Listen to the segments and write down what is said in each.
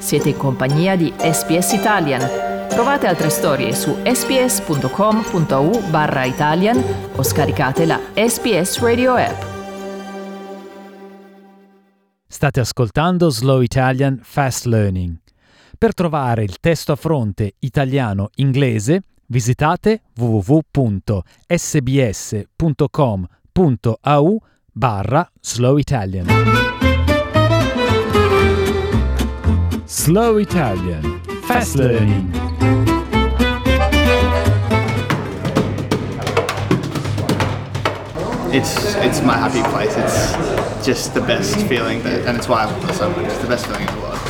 Siete in compagnia di SPS Italian. Trovate altre storie su sps.com.au/Italian o scaricate la SPS Radio app. State ascoltando Slow Italian Fast Learning. Per trovare il testo a fronte italiano-inglese, visitate www.sbs.com.au/Slow Italian. Slow Italian Fast Learning. It's my happy place. It's just the best feeling, and it's why I love it so much. It's the best feeling in the world.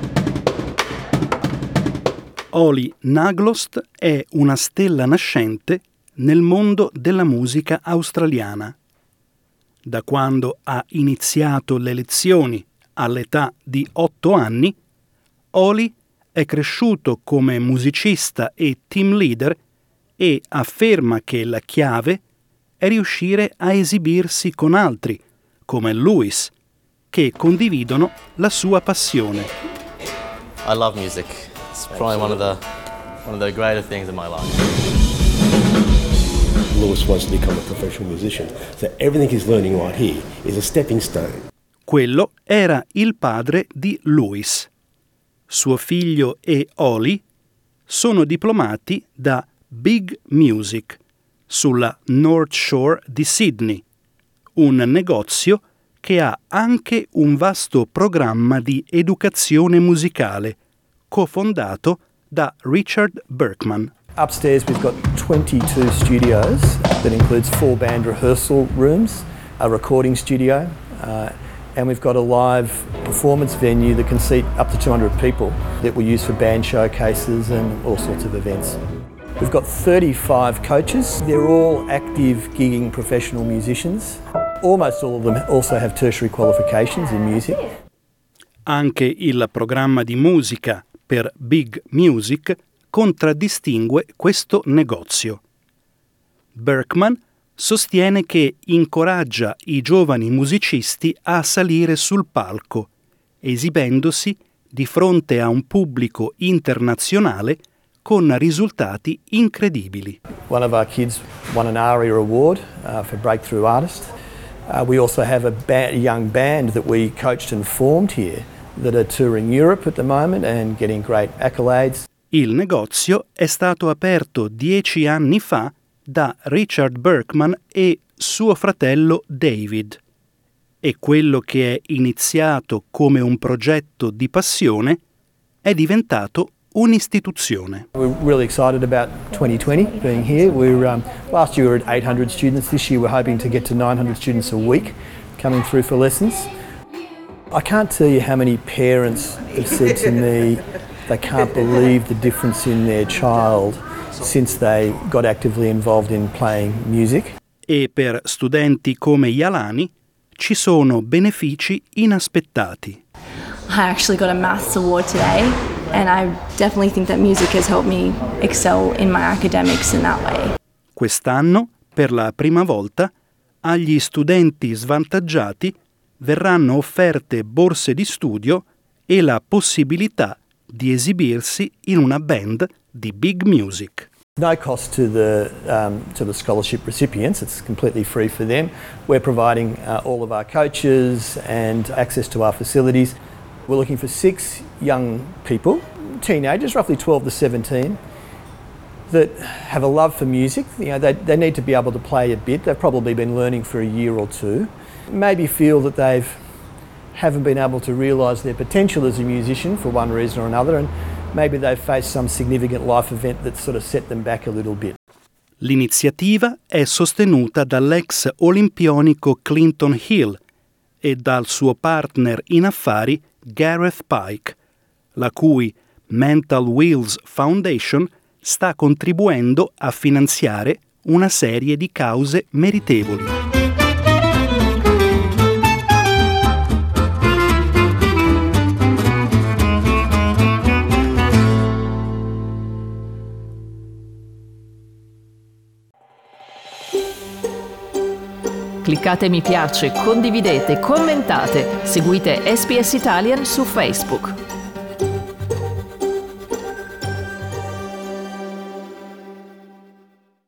Oli Naglost è una stella nascente nel mondo della musica australiana. Da quando ha iniziato le lezioni all'età di 8 anni, Oli è cresciuto come musicista e team leader e afferma che la chiave è riuscire a esibirsi con altri, come Lewis, che condividono la sua passione. I love music. It's probably one of the greater things in my life. Lewis wants to become a professional musician, so everything he's learning right here is a stepping stone. Quello era il padre di Lewis. Suo figlio e Oli sono diplomati da Big Music sulla North Shore di Sydney, un negozio che ha anche un vasto programma di educazione musicale, cofondato da Richard Berkman. Upstairs we've got 22 studios that includes 4 band rehearsal rooms, a recording studio, and we've got a live performance venue that can seat up to 200 people that we use for band showcases and all sorts of events. We've got 35 coaches. They're all active gigging professional musicians. Almost all of them also have tertiary qualifications in music. Anche il programma di musica per Big Music contraddistingue questo negozio. Berkman sostiene che incoraggia i giovani musicisti a salire sul palco, esibendosi di fronte a un pubblico internazionale con risultati incredibili. One of our kids won an ARIA award for Breakthrough Artist. We also have a young band that we coached and formed here that are touring Europe at the moment and getting great accolades. Il negozio è stato aperto 10 anni fa da Richard Berkman e suo fratello David, e quello che è iniziato come un progetto di passione è diventato un'istituzione. We're really excited about 2020 being here. Last year we were at 800 students. This year we're hoping to get to 900 students a week coming through for lessons. I can't tell you how many parents have said to me they can't believe the difference in their child since they got actively involved in playing music. E per studenti come Yalani ci sono benefici inaspettati. I actually got a maths award today, and I definitely think that music has helped me excel in my academics in that way. Quest'anno, per la prima volta, agli studenti svantaggiati verranno offerte borse di studio e la possibilità di esibirsi in una band di Big Music. No cost to the scholarship recipients. It's completely free for them. We're providing all of our coaches and access to our facilities. We're looking for 6 young people, teenagers, roughly 12 to 17, that have a love for music. You know, they need to be able to play a bit. They've probably been learning for a year or two. Maybe feel that they haven't been able to realise their potential as a musician for one reason or another, and maybe they've faced some significant life event that sort of set them back a little bit. L'iniziativa è sostenuta dall'ex olimpionico Clinton Hill e dal suo partner in affari Gareth Pike, la cui Mental Wheels Foundation sta contribuendo a finanziare una serie di cause meritevoli. Cliccate mi piace, condividete, commentate, seguite SPS Italian su Facebook.